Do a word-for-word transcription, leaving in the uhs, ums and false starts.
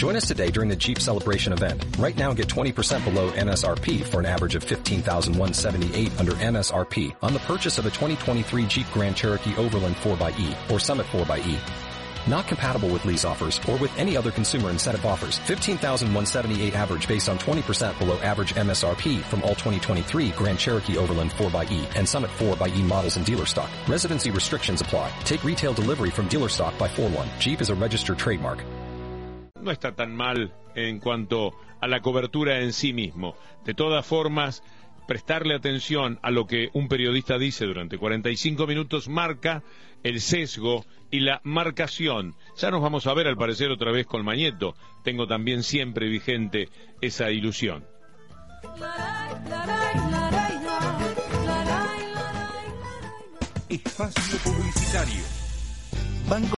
Join us today during the Jeep Celebration event. Right now, get twenty percent below M S R P for an average of fifteen thousand one hundred seventy-eight dollars under M S R P on the purchase of a twenty twenty-three Jeep Grand Cherokee Overland four by E or Summit four by E. Not compatible with lease offers or with any other consumer incentive offers. fifteen thousand one hundred seventy-eight dollars average based on twenty percent below average M S R P from all twenty twenty-three Grand Cherokee Overland four by E and Summit four by E models in dealer stock. Residency restrictions apply. Take retail delivery from dealer stock by four one. Jeep is a registered trademark. No está tan mal en cuanto a la cobertura en sí mismo. De todas formas, prestarle atención a lo que un periodista dice durante cuarenta y cinco minutos marca el sesgo y la marcación. Ya nos vamos a ver al parecer otra vez con Mañeto. Tengo también siempre vigente esa ilusión. Espacio publicitario. Banco